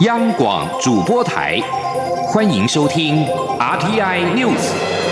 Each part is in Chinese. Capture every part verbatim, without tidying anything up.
央广主播台，欢迎收听 R T I News。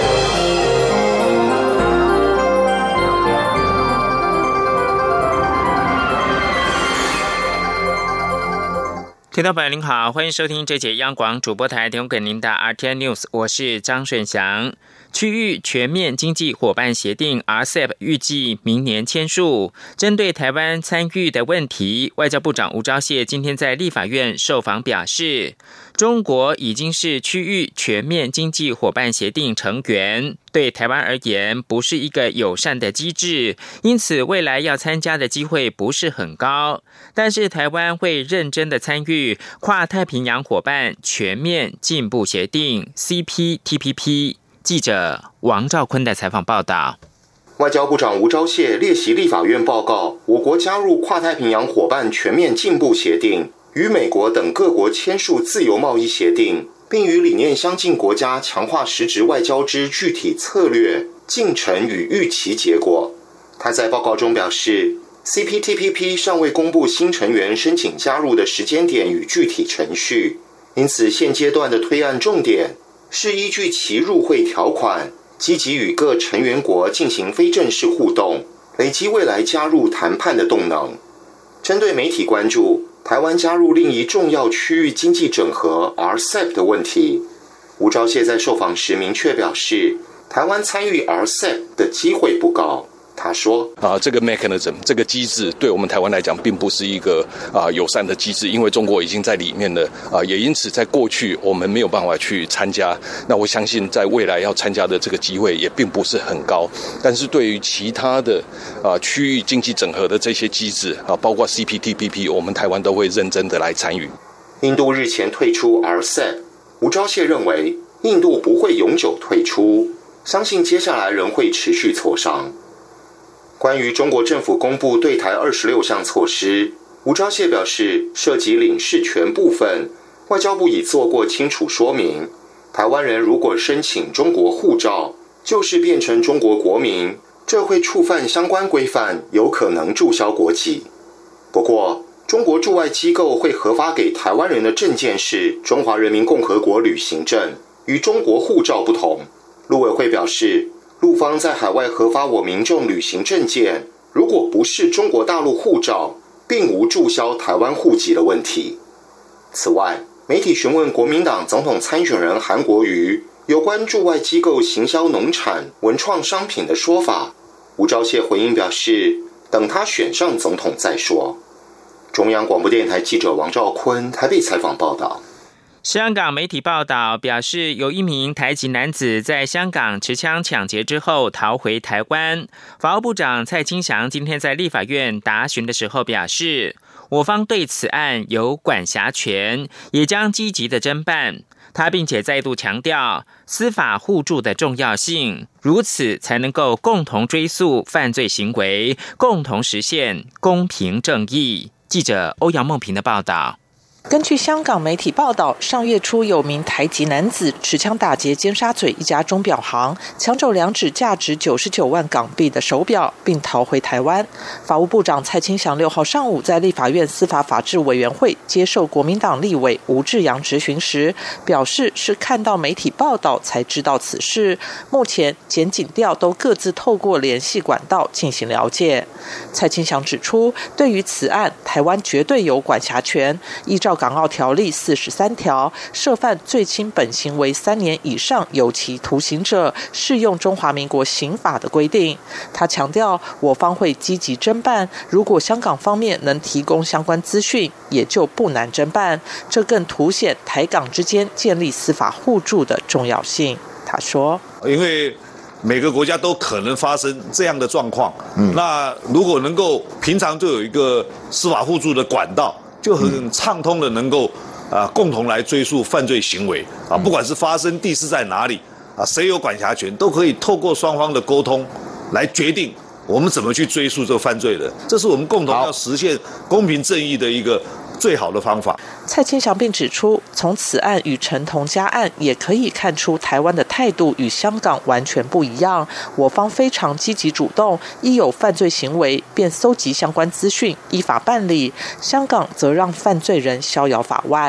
听众朋友您好，欢迎收听这节央广主播台提供给您的 R T I News， 我是张顺祥。区域全面经济伙伴协定 R C E P 预计明年签署。针对台湾参与的问题，外交部长吴钊燮今天在立法院受访表示，中国已经是区域全面经济伙伴协定成员，对台湾而言不是一个友善的机制，因此未来要参加的机会不是很高。但是台湾会认真的参与跨太平洋伙伴全面进步协定 C P T P P。记者王兆坤的采访报道。 外交部长吴钊燮列席立法院报告，我国加入跨太平洋伙伴全面进步协定，与美国等各国签署自由贸易协定，并与理念相近国家强化实质外交之具体策略、进程与预期结果。他在报告中表示， C P T P P 尚未公布新成员申请加入的时间点与具体程序，因此现阶段的推案重点是依据其入会条款，积极与各成员国进行非正式互动，累积未来加入谈判的动能。针对媒体关注台湾加入另一重要区域经济整合 R C E P 的问题，吴钊燮在受访时明确表示，台湾参与 R C E P 的机会不高。他说啊，这个 mechanism 这个机制对我们台湾来讲并不是一个啊友善的机制，因为中国已经在里面了啊，也因此在过去我们没有办法去参加。那我相信在未来要参加的这个机会也并不是很高。但是对于其他的啊区域经济整合的这些机制啊，包括 C P T P P， 我们台湾都会认真的来参与。 印度日前退出 R C E P， 吴钊燮认为印度不会永久退出，相信接下来仍会持续磋商。关于中国政府公布对台二十六项措施，吴钊燮表示，涉及领事权部分，外交部已做过清楚说明。台湾人如果申请中国护照，就是变成中国国民，这会触犯相关规范，有可能注销国籍。不过，中国驻外机构会核发给台湾人的证件是中华人民共和国旅行证，与中国护照不同。陆委会表示，陆方在海外核发我民众旅行证件，如果不是中国大陆护照，并无注销台湾户籍的问题。此外，媒体询问国民党总统参选人韩国瑜有关驻外机构行销农产、文创商品的说法，吴钊燮回应表示，等他选上总统再说。中央广播电台记者王兆坤台北采访报道。 香港媒体报道表示，有一名台籍男子在香港持枪抢劫之后逃回台湾。法务部长蔡清祥今天在立法院答询的时候表示，我方对此案有管辖权，也将积极的侦办。他并且再度强调司法互助的重要性，如此才能够共同追溯犯罪行为，共同实现公平正义。记者欧阳梦平的报道。 根据香港媒体报道，上月初有名台籍男子持枪打劫尖沙咀一家钟表行，抢走两只价值九十九万港币的手表，并逃回台湾。法务部长蔡清祥六号上午在立法院司法法制委员会接受国民党立委吴志阳质询时，表示是看到媒体报道才知道此事，目前检警调都各自透过联系管道进行了解。蔡清祥指出，对于此案，台湾绝对有管辖权，依照港澳条例四十三条，涉犯最轻本刑为三年以上有期徒刑者，适用中华民国刑法的规定。他强调，我方会积极侦办，如果香港方面能提供相关资讯，也就不难侦办。这更凸显台港之间建立司法互助的重要性。他说， 因为每个国家都可能发生这样的状况，嗯，那如果能够平常就有一个司法互助的管道，就很畅通的能够啊、呃、共同来追溯犯罪行为啊，不管是发生地是在哪里啊，谁有管辖权，都可以透过双方的沟通来决定我们怎么去追溯这个犯罪人。这是我们共同要实现公平正义的一个最好的方法。 蔡清祥并指出，从此案与陈同佳案也可以看出台湾的态度与香港完全不一样，我方非常积极主动，一有犯罪行为便搜集相关资讯依法办理，香港则让犯罪人逍遥法外。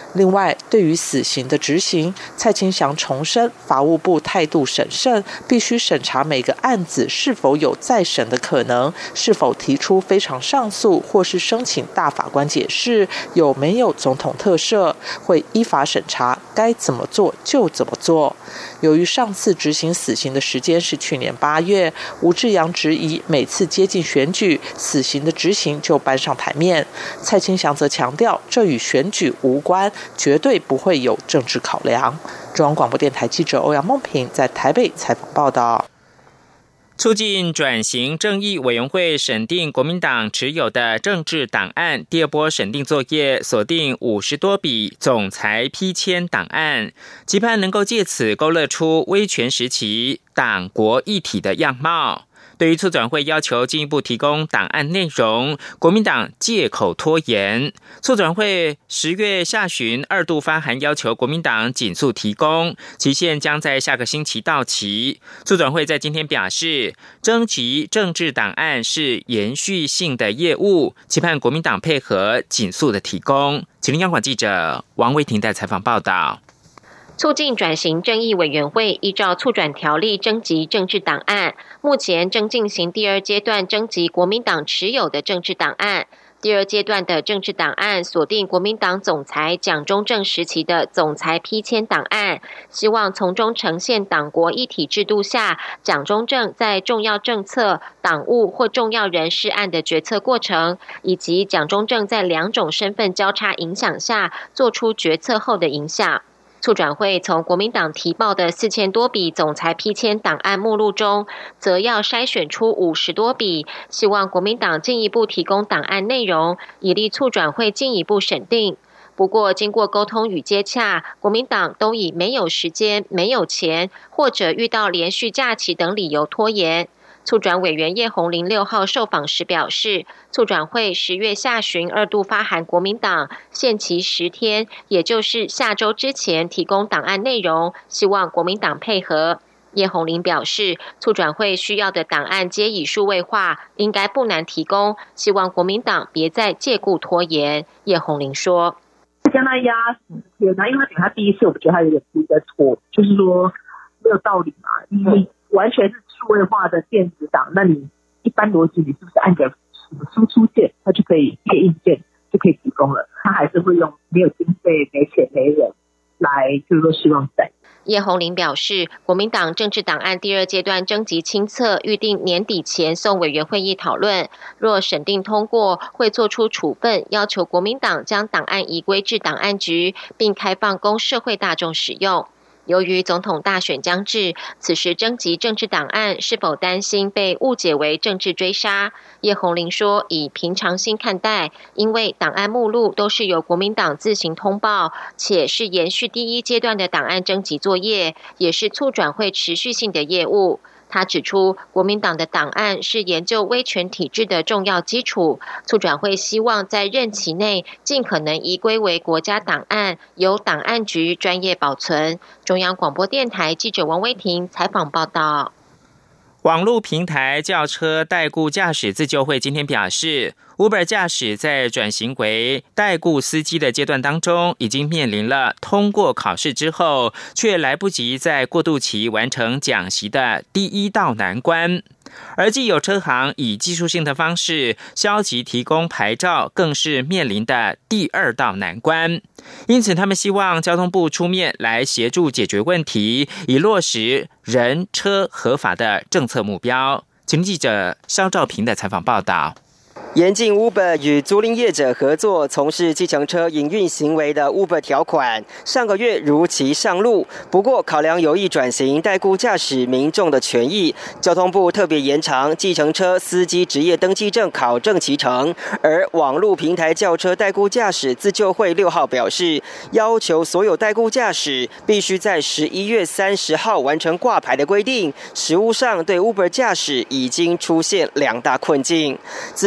另外，对于死刑的执行，蔡清祥重申法务部态度审慎，必须审查每个案子是否有再审的可能，是否提出非常上诉或是申请大法官解释，有没有总统特赦，会依法审查，该怎么做就怎么做。由于上次执行死刑的时间是去年八月，吴志阳质疑每次接近选举，死刑的执行就搬上台面。蔡清祥则强调，这与选举无关，绝对不会有政治考量。中央广播电台记者欧阳梦平在台北采访报道。 促进转型正义委员会审定国民党持有的政治档案，第二波审定作业锁定五十多笔总裁批签档案，期盼能够借此勾勒出威权时期党国一体的样貌。对于促转会要求进一步提供档案内容，国民党借口拖延。促转会十月下旬二度发函要求国民党紧速提供，期限将在下个星期到期。促转会在今天表示，征集政治档案是延续性的业务，期盼国民党配合紧速的提供。请听央广记者王维婷的采访报道。 促进转型正义委员会依照促转条例征集政治档案，目前正进行第二阶段征集国民党持有的政治档案。第二阶段的政治档案锁定国民党总裁蒋中正时期的总裁批签档案，希望从中呈现党国一体制度下蒋中正在重要政策、党务或重要人事案的决策过程，以及蒋中正在两种身份交叉影响下做出决策后的影响。促转会从国民党提报的四千多笔总裁批签档案目录中，则要筛选出五十多笔，希望国民党进一步提供档案内容，以利促转会进一步审定。不过，经过沟通与接洽，国民党都以没有时间、没有钱，或者遇到连续假期等理由拖延。促转委员叶红麟六号受访时表示，促转会十月下旬二度发函国民党，限期十天，也就是下周之前提供档案内容，希望国民党配合。叶红麟表示，促转会需要的档案皆已数位化，应该不难提供，希望国民党别再借故拖延。叶红麟说：“ 将他压十天啊，因为他他第一次，我觉得他有点不在拖，就是说没有道理嘛，因为完全是数位化的电子档，那你一般逻辑你是不是按着什么输出键，它就可以列印件就可以提供了？他还是会用没有经费、没钱、没人来，就是说希望在。” 叶红麟表示，国民党政治档案第二阶段征集清册预定年底前送委员会议讨论，若审定通过，会做出处分，要求国民党将档案移归至档案局，并开放供社会大众使用。由于总统大选将至，此时征集政治档案是否担心被误解为政治追杀？叶红麟说，以平常心看待，因为档案目录都是由国民党自行通报，且是延续第一阶段的档案征集作业，也是促转会持续性的业务。他指出，国民党的档案是研究威权体制的重要基础，促转会希望在任期内尽可能移归为国家档案，由档案局专业保存。中央广播电台记者王威婷采访报道。 网络平台轿车代雇驾驶自救会今天表示， Uber 驾驶在转型为代雇司机的阶段当中，已经面临了通过考试之后却来不及在过渡期完成讲习的第一道难关。而既有车行以技术性的方式消极提供牌照，更是面临的第二道难关。因此他们希望交通部出面来协助解决问题，以落实人车合法的政策目标。请记者肖兆平的采访报道。 严禁 Uber 与租赁业者合作从事计程车营运行为的 Uber 条款，上个月如期上路。不过，考量有意转型代雇驾驶民众的权益，交通部特别延长计程车司机职业登记证考证期程。而网络平台轿车代雇驾驶自救会六号表示，要求所有代雇驾驶必须在十一月三十号完成挂牌的规定，实务上对 Uber 驾驶已经出现两大困境。自救会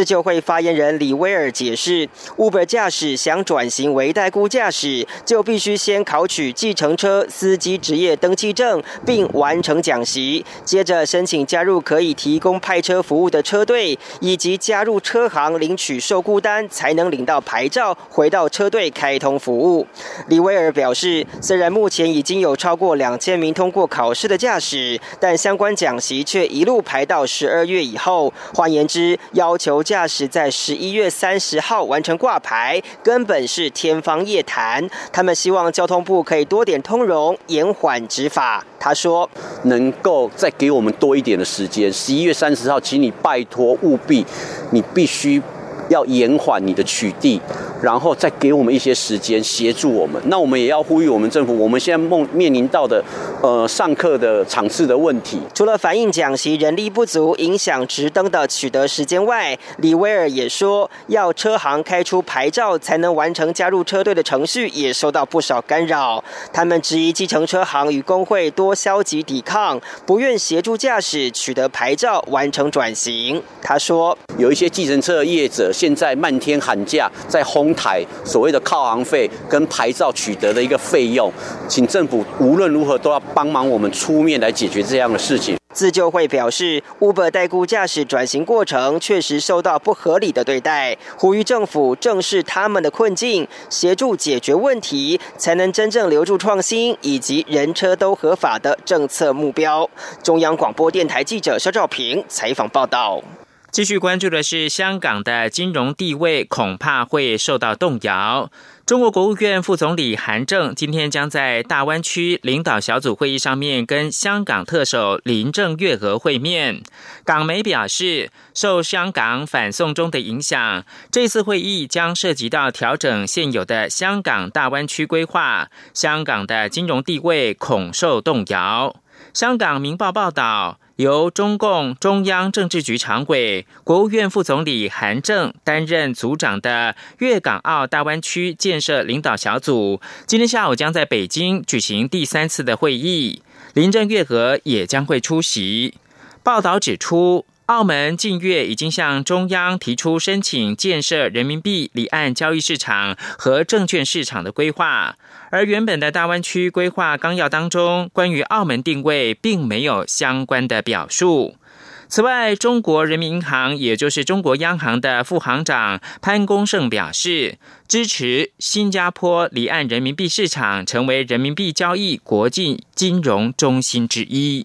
发言人李威尔解释 ，Uber 驾驶想转型为代雇驾驶，就必须先考取计程车司机职业登记证，并完成讲习，接着申请加入可以提供派车服务的车队，以及加入车行领取受雇单，才能领到牌照，回到车队开通服务。李威尔表示，虽然目前已经有超过两千名通过考试的驾驶，但相关讲习却一路排到十二月以后。换言之，要求驾驶在十一月三十号完成挂牌，根本是天方夜谭。他们希望交通部可以多点通融，延缓执法。他说， 能够再给我们多一点的时间，十一月三十号，请你拜托务必，你必须要延缓你的取缔，然后再给我们一些时间协助我们。那我们也要呼吁我们政府，我们现在梦面临到的呃上课的场次的问题， 除了反映讲习人力不足影响直登的取得时间外，李威尔也说，要车行开出牌照才能完成加入车队的程序，也受到不少干扰。他们质疑计程车行与工会多消极抵抗，不愿协助驾驶取得牌照完成转型。他说， 有一些计程车业者现在漫天喊价，在哄抬所谓的靠行费跟牌照取得的一个费用，请政府无论如何都要帮忙我们出面来解决这样的事情。 自救会表示 ，Uber 代雇驾驶转型过程确实受到不合理的对待，呼吁政府正视他们的困境，协助解决问题，才能真正留住创新以及人车都合法的政策目标。中央广播电台记者肖兆平采访报道。 继续关注的是香港的金融地位恐怕会受到动摇。中国国务院副总理韩正今天将在大湾区领导小组会议上面跟香港特首林郑月娥会面。港媒表示，受香港反送中的影响，这次会议将涉及到调整现有的香港大湾区规划，香港的金融地位恐受动摇。香港明报报道，由中共中央政治局常委、国务院副总理韩正担任组长的粤港澳大湾区建设领导小组，今天下午将在北京举行第三次的会议，林郑月娥也将会出席。报道指出，澳门近月已经向中央提出申请建设人民币离岸交易市场和证券市场的规划，而原本的大湾区规划纲要当中，关于澳门定位并没有相关的表述。此外，中国人民银行也就是中国央行的副行长潘功胜表示，支持新加坡离岸人民币市场成为人民币交易国际金融中心之一。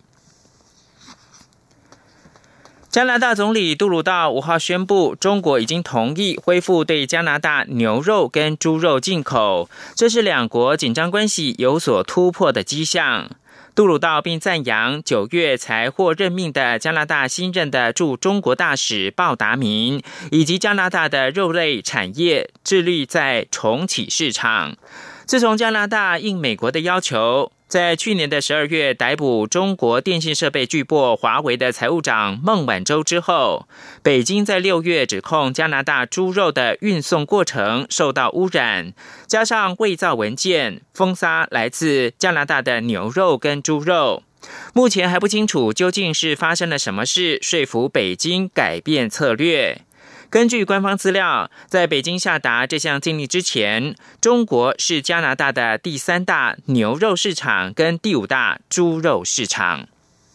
加拿大总理杜鲁道五号宣布，中国已经同意恢复对加拿大牛肉跟猪肉进口，这是两国紧张关系有所突破的迹象。杜鲁道并赞扬九月才获任命的加拿大新任的驻中国大使鲍达明，以及加拿大的肉类产业致力在重启市场。自从加拿大应美国的要求，在去年的十二月逮捕中国电信设备巨擘华为的财务长孟晚舟之后，北京在六月指控加拿大猪肉的运送过程受到污染，加上伪造文件封杀来自加拿大的牛肉跟猪肉。目前还不清楚究竟是发生了什么事，说服北京改变策略。根据官方资料，在北京下达这项禁令之前，中国是加拿大的第三大牛肉市场跟第五大猪肉市场。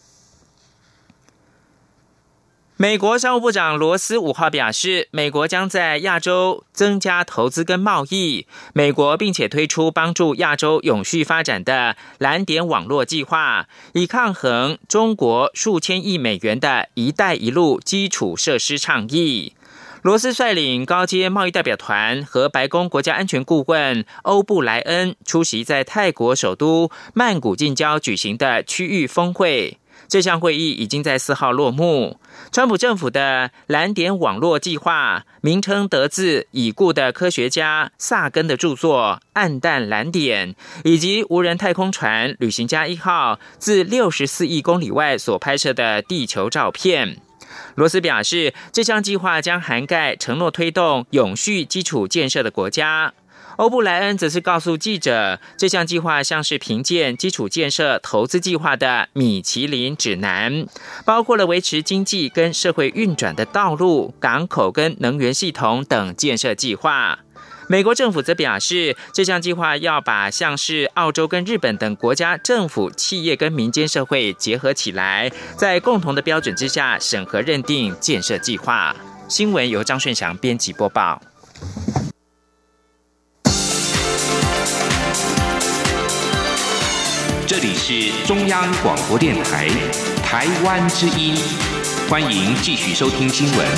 美国商务部长罗斯五号表示，美国将在亚洲增加投资跟贸易，美国并且推出帮助亚洲永续发展的蓝点网络计划，以抗衡中国数千亿美元的一带一路基础设施倡议。罗斯率领高阶贸易代表团和白宫国家安全顾问欧布莱恩出席在泰国首都曼谷近郊举行的区域峰会。这项会议已经在四号落幕。川普政府的蓝点网络计划名称得自已故的科学家萨根的著作《暗淡蓝点》，以及无人太空船旅行家一号自六十四亿公里外所拍摄的地球照片。罗斯表示，这项计划将涵盖承诺推动永续基础建设的国家。 欧布莱恩则是告诉记者，这项计划像是评鉴基础建设投资计划的米其林指南，包括了维持经济跟社会运转的道路、港口跟能源系统等建设计划。美国政府则表示，这项计划要把像是澳洲跟日本等国家政府、企业跟民间社会结合起来，在共同的标准之下审核认定建设计划。新闻由张顺祥编辑播报。 这里是中央广播电台台湾之音，欢迎继续收听新闻。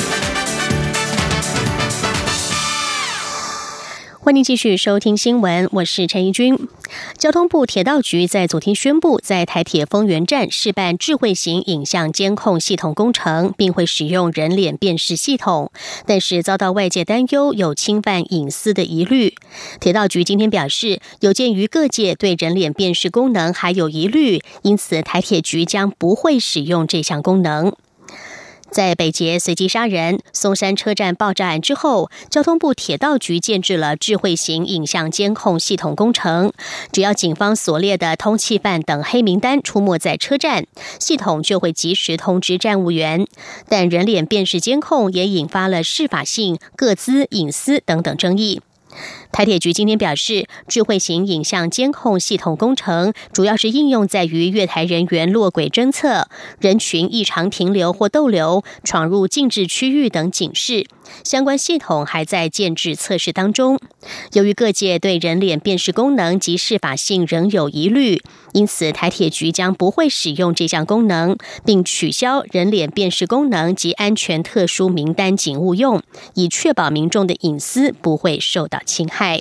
欢迎继续收听新闻，我是陈怡君。交通部铁道局在昨天宣布，在台铁丰原站试办智慧型影像监控系统工程，并会使用人脸辨识系统，但是遭到外界担忧有侵犯隐私的疑虑。铁道局今天表示，有鉴于各界对人脸辨识功能还有疑虑，因此台铁局将不会使用这项功能。在北捷随机杀人、松山车站爆炸案之后，交通部铁道局建置了智慧型影像监控系统工程。只要警方所列的通缉犯等黑名单出没在车站，系统就会及时通知站务员。但人脸辨识监控也引发了适法性、个资、隐私等等争议。台铁局今天表示，智慧型影像监控系统工程主要是应用在于月台人员落轨侦测、人群异常停留或逗留、闯入禁制区域等警示。相关系统还在建制测试当中。由于各界对人脸辨识功能及适法性仍有疑虑，因此台铁局将不会使用这项功能，并取消人脸辨识功能及安全特殊名单警务用，以确保民众的隐私不会受到侵害。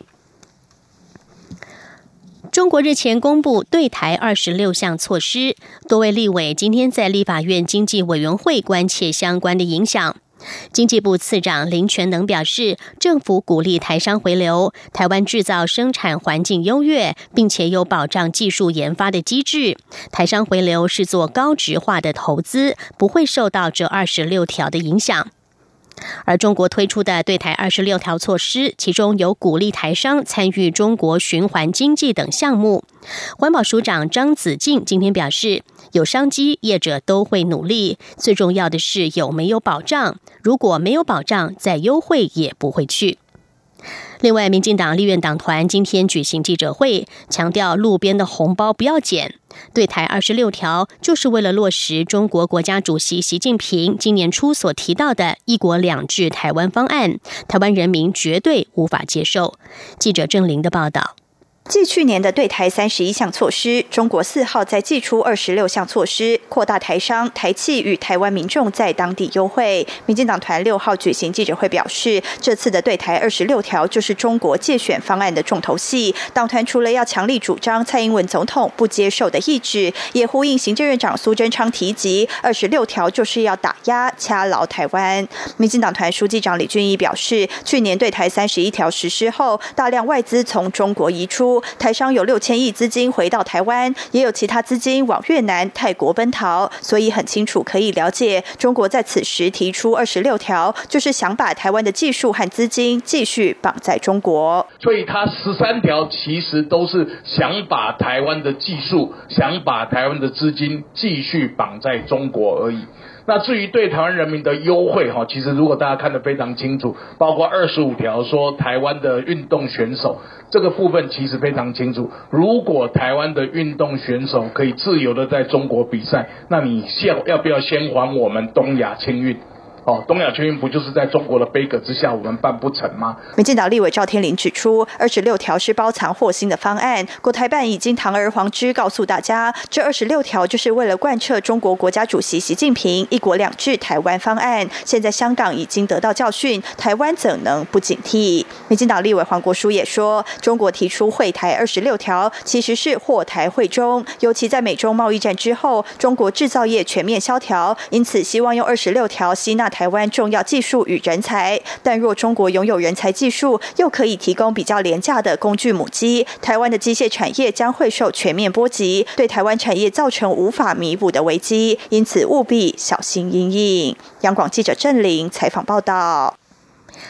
中国日前公布对台二十六项措施，多位立委今天在立法院经济委员会关切相关的影响。经济部次长林全能表示，政府鼓励台商回流，台湾制造生产环境优越，并且有保障技术研发的机制。台商回流是做高质化的投资，不会受到这二十六条的影响。而中国推出的对台二十六条措施，其中有鼓励台商参与中国循环经济等项目。环保署长张子敬今天表示，有商机，业者都会努力，最重要的是有没有保障，如果没有保障，再优惠也不会去。另外，民进党立院党团今天举行记者会，强调路边的红包不要捡。对台二十六条就是为了落实中国国家主席习近平今年初所提到的一国两制台湾方案，台湾人民绝对无法接受。记者郑玲的报道。 继去年的对台三十一项措施，中国四号再祭出二十六项措施，扩大台商、台企与台湾民众在当地优惠。民进党团六号举行记者会表示，这次的对台二十六条就是中国介选方案的重头戏。党团除了要强力主张蔡英文总统不接受的意志，也呼应行政院长苏贞昌提及，二十六条就是要打压、掐牢台湾。民进党团书记长李俊毅表示，去年对台三十一条实施后，大量外资从中国移出。台商有六千亿资金回到台湾，也有其他资金往越南、泰国奔逃，所以很清楚可以了解，中国在此时提出二十六条，就是想把台湾的技术和资金继续绑在中国。 所以它十三条其实都是想把台湾的技术、想把台湾的资金继续绑在中国而已。那至于对台湾人民的优惠，其实如果大家看得非常清楚，包括二十五条说台湾的运动选手，这个部分其实非常清楚。如果台湾的运动选手可以自由的在中国比赛，那你先要不要先还我们东亚青运？哦，东亚青运不就是在中国的杯葛之下我们办不成吗？ 民进党立委赵天麟指出，二十六条是包藏祸心的方案，国台办已经堂而皇之告诉大家，这二十六条就是为了贯彻中国国家主席习近平一国两制台湾方案。现在香港已经得到教训，台湾怎能不警惕？民进党立委黄国书也说，中国提出惠台二十六条其实是祸台惠中，尤其在美中贸易战之后，中国制造业全面萧条，因此希望用二十六条吸纳台湾重要技术与人才，但若中国拥有人才技术，又可以提供比较廉价的工具母机，台湾的机械产业将会受全面波及，对台湾产业造成无法弥补的危机，因此务必小心因应。央广记者郑玲采访报道。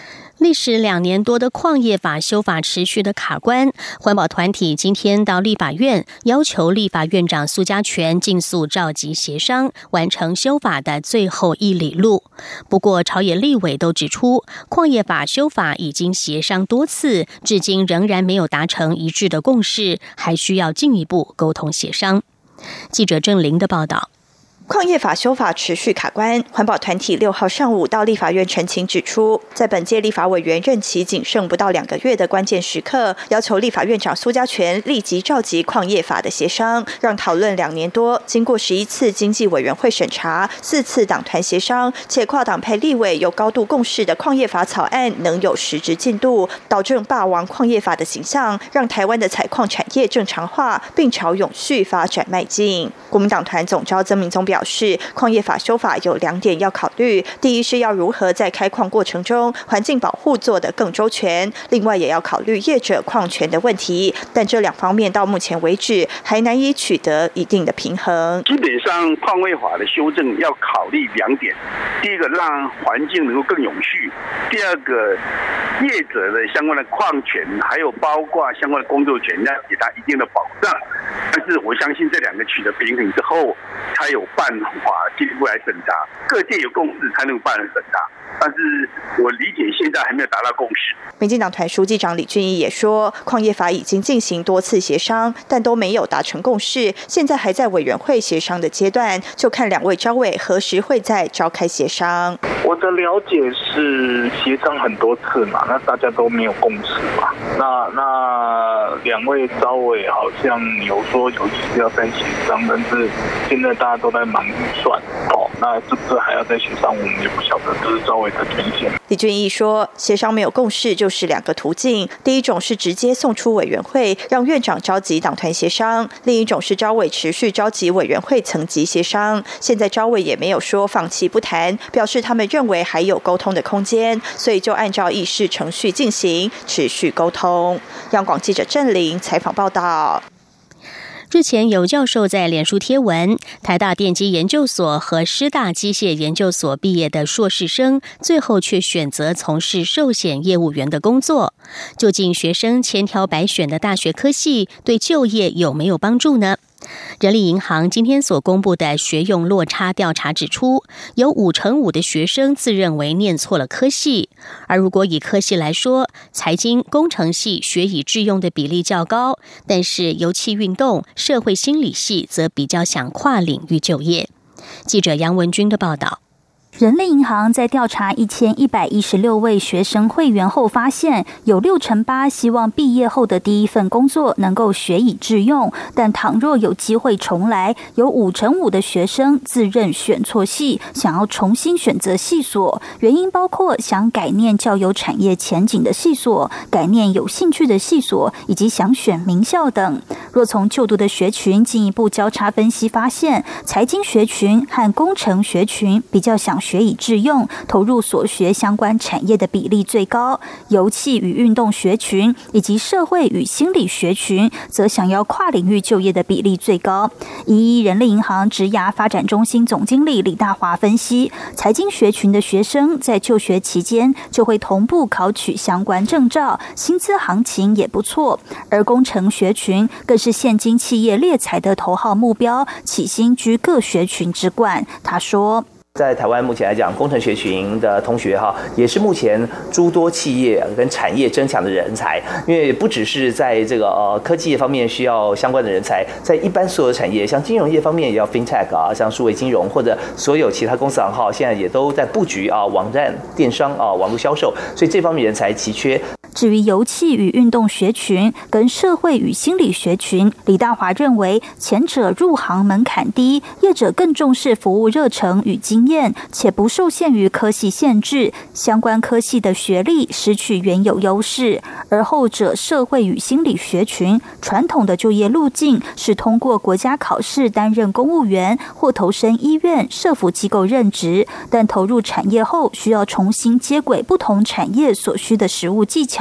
历时两年多的矿业法修法持续的卡关，环保团体今天到立法院要求立法院长苏家全尽速召集协商，完成修法的最后一里路。不过朝野立委都指出，矿业法修法已经协商多次，至今仍然没有达成一致的共识，还需要进一步沟通协商。记者郑玲的报道。 矿业法修法持续卡关，环保团体六号上午到立法院陈情指出，在本届立法委员任期仅剩不到两个月的关键时刻，要求立法院长苏家全立即召集矿业法的协商，让讨论两年多，经过十一次经济委员会审查、四次党团协商，且跨党派立委有高度共识的矿业法草案能有实质进度，导正霸王矿业法的形象，让台湾的采矿产业正常化，并朝永续发展迈进。国民党团总召曾明宗表示，表示，矿业法修法有两点要考虑，第一是要如何在开矿过程中环境保护做得更周全，另外也要考虑业者矿权的问题，但这两方面到目前为止还难以取得一定的平衡。 基本上矿业法的修正要考虑两点，第一个让环境能够更永续，第二个业者的相关的矿权还有包括相关的工作权要给他一定的保障，但是我相信这两个取得平衡之后才有办法进一步来审查，各界有共识才能办审查，但是我理解现在还没有达到共识。 民进党团书记长李俊毅也说，矿业法已经进行多次协商，但都没有达成共识，现在还在委员会协商的阶段，就看两位召委何时会再召开协商。 我的了解是协商很多次嘛，那大家都没有共识嘛。那那两位召委好像有说有意思要再协商，但是现在大家都在忙预算哦，那是不是还要再协商？我们也不晓得，这是召委的权限。 李俊毅说，协商没有共识就是两个途径，第一种是直接送出委员会，让院长召集党团协商；另一种是召委持续召集委员会层级协商。现在召委也没有说放弃不谈，表示他们认为还有沟通的空间，所以就按照议事程序进行，持续沟通。央广记者郑玲采访报道。 日前有教授在脸书贴文，台大电机研究所和师大机械研究所毕业的硕士生，最后却选择从事寿险业务员的工作。究竟学生千挑百选的大学科系对就业有没有帮助呢？人力银行今天所公布的学用落差调查指出，有五成五的学生自认为念错了科系，而如果以科系来说，财经、工程系学以致用的比例较高，但是游憩运动、社会心理系则比较想跨领域就业。记者杨文君的报道。 人力银行在调查一千一百一十六位学生会员后发现，有六成八希望毕业后的第一份工作能够学以致用，但倘若有机会重来，有五成五的学生自认选错系，想要重新选择系所，原因包括想改念较有产业前景的系所，改念有兴趣的系所，以及想选名校等。若从就读的学群进一步交叉分析，发现财经学群和工程学群比较想学以致用，投入所学相关产业的比例最高；游憩与运动学群以及社会与心理学群则想要跨领域就业的比例最高。一人力银行职涯发展中心总经理李大华分析，财经学群的学生在就学期间就会同步考取相关证照，薪资行情也不错；而工程学群更是现今企业猎才的头号目标，起薪居各学群之冠。他说， 在台湾目前来讲，工程学群的同学哈，也是目前诸多企业跟产业争抢的人才。因为不只是在这个呃科技业方面需要相关的人才，在一般所有产业，像金融业方面也要 fintech 啊，像数位金融或者所有其他公司行号，现在也都在布局啊网站、电商啊、网络销售，所以这方面人才奇缺。 至于游憩与运动学群跟社会与心理学群，李大华认为前者入行门槛低，业者更重视服务热忱与经验，且不受限于科系限制，相关科系的学历失去原有优势。而后者社会与心理学群，传统的就业路径是通过国家考试担任公务员或投身医院、社福机构任职，但投入产业后需要重新接轨不同产业所需的实务技巧，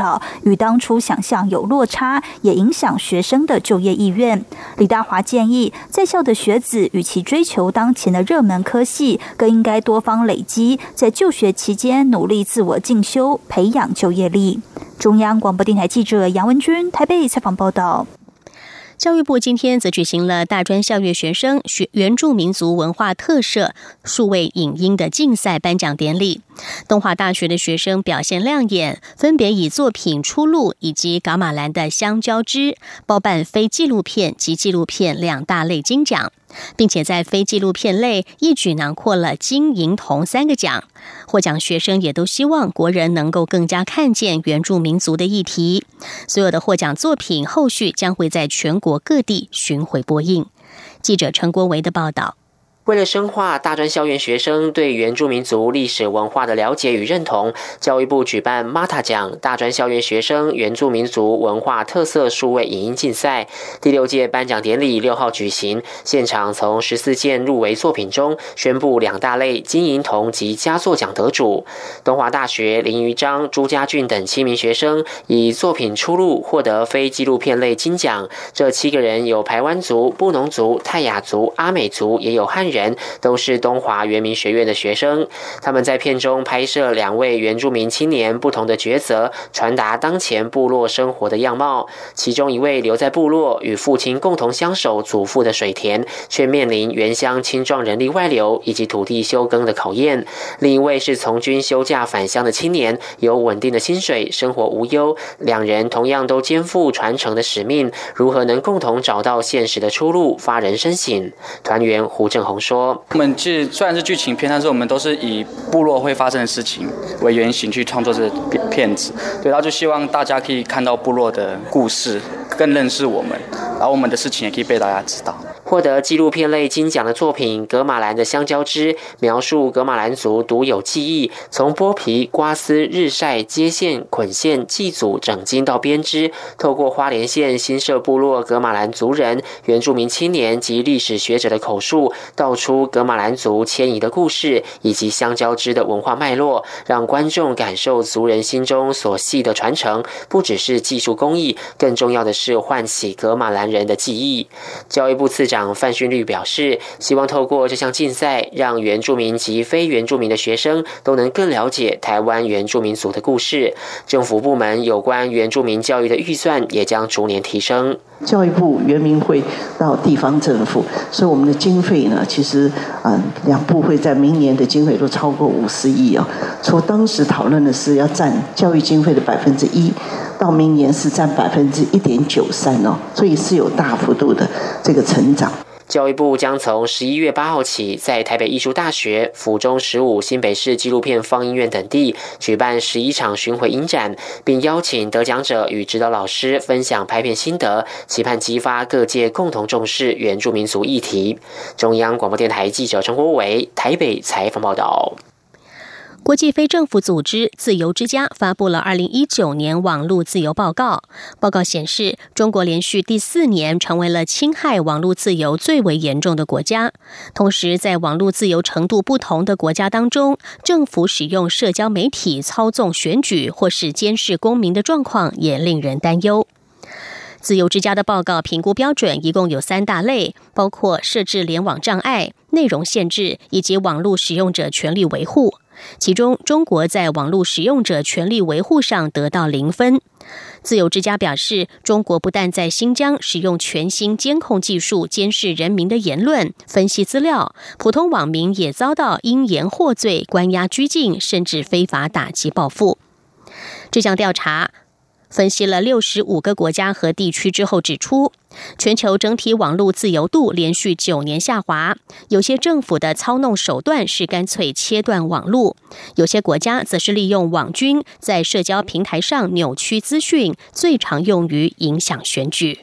少，与当初想象有落差，也影响学生的就业意愿。李大华建议，在校的学子与其追求当前的热门科系，更应该多方累积，在就学期间努力自我进修，培养就业力。中央广播电台记者杨文君台北采访报道。 教育部今天则举行了大专校院学生学原住民族文化特色数位影音的竞赛颁奖典礼。东华大学的学生表现亮眼，分别以作品《出路》以及噶玛兰的香蕉汁包办非纪录片及纪录片两大类金奖，并且在非纪录片类一举囊括了金银铜三个奖。获奖学生也都希望国人能够更加看见原住民族的议题。所有的获奖作品后续将会在全国各地巡回播映。记者陈国维的报道。 为了深化大专校园学生对原住民族历史文化的了解与认同，教育部举办 M A T A 奖大专校园学生原住民族文化特色数位影音竞赛第六届颁奖典礼六号举行，现场从十四件入围作品中宣布两大类金银铜及佳作奖得主。东华大学林于章、朱家俊等七名学生以作品出路获得非纪录片类金奖，这七个人有排湾族、布农族、泰雅族、阿美族，也有汉人人都是东华原民学院的学生。他们在片中拍摄两位原住民青年不同的抉择，传达当前部落生活的样貌。其中一位留在部落与父亲共同相守祖父的水田，却面临原乡青壮人力外流以及土地休耕的考验。另一位是从军休假返乡的青年，有稳定的薪水，生活无忧。两人同样都肩负传承的使命，如何能共同找到现实的出路，发人深省。团员胡正宏说：“ 我们其实虽然是剧情片，但是我们都是以部落会发生的事情为原型去创作这片子。对，然后就希望大家可以看到部落的故事，更认识我们，然后我们的事情也可以被大家知道。” 获得纪录片类金奖的作品《噶玛兰的香蕉汁》，描述噶玛兰族独有技艺，从剥皮、刮丝、日晒、接线、捆线、祭祖、整筋到编织，透过花莲县新社部落噶玛兰族人、原住民青年及历史学者的口述，道出噶玛兰族迁移的故事以及香蕉汁的文化脉络，让观众感受族人心中所系的传承，不只是技术工艺，更重要的是唤起噶玛兰人的记忆。教育部次长范训律表示，希望透过这项竞赛，让原住民及非原住民的学生都能更了解台湾原住民族的故事。政府部门有关原住民教育的预算也将逐年提升。 教育部、原民会到地方政府，所以我们的经费呢，其实啊、呃，两部会在明年的经费都超过五十亿哦。从当时讨论的是要占教育经费的百分之一，到明年是占百分之一点九三哦，所以是有大幅度的这个成长。 教育部将从十一月八号起，在台北艺术大学、府中十五、新北市纪录片放映院等地举办十一场巡回影展，并邀请得奖者与指导老师分享拍片心得，期盼激发各界共同重视原住民族议题。中央广播电台记者陈国伟台北采访报道。 国际非政府组织自由之家发布了二零一九年网络自由报告。报告显示，中国连续第四年成为了侵害网络自由最为严重的国家。同时，在网络自由程度不同的国家当中，政府使用社交媒体操纵选举或是监视公民的状况也令人担忧。自由之家的报告评估标准一共有三大类，包括设置联网障碍、内容限制以及网络使用者权利维护。其中，中国在网络使用者权利维护上得到零分。自由之家表示，中国不但在新疆使用全新监控技术监视人民的言论、分析资料，普通网民也遭到因言获罪、关押拘禁，甚至非法打击报复。这项调查分析了六十五个国家和地区之后指出，全球整体网络自由度连续九年下滑，有些政府的操弄手段是干脆切断网络，有些国家则是利用网军在社交平台上扭曲资讯，最常用于影响选举。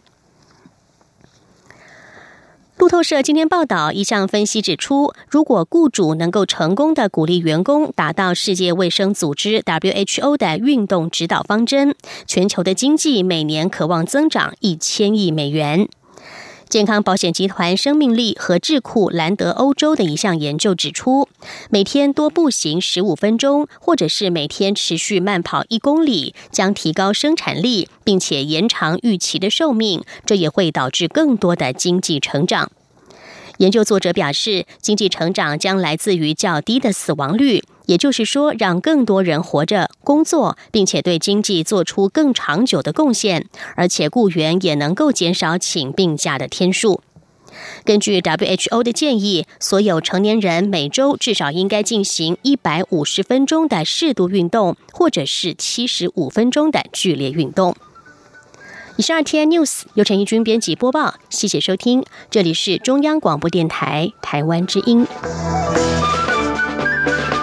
路透社今天报道，一项分析指出，如果雇主能够成功的鼓励员工达到世界卫生组织 W H O 的运动指导方针，全球的经济每年可望增长一千亿美元。 健康保险集团生命力和智库兰德欧洲的一项研究指出，每天多步行十五分钟，或者是每天持续慢跑一公里，将提高生产力，并且延长预期的寿命，这也会导致更多的经济成长。研究作者表示，经济成长将来自于较低的死亡率，也就是说，让更多人活着、工作，并且对经济做出更长久的贡献，而且雇员也能够减少请病假的天数。根据 W H O 的建议，所有成年人每周至少应该进行一百五十分钟的适度运动，或者是七十五分钟的剧烈运动。以上 R T I News 由陈怡君编辑播报，谢谢收听，这里是中央广播电台台湾之音。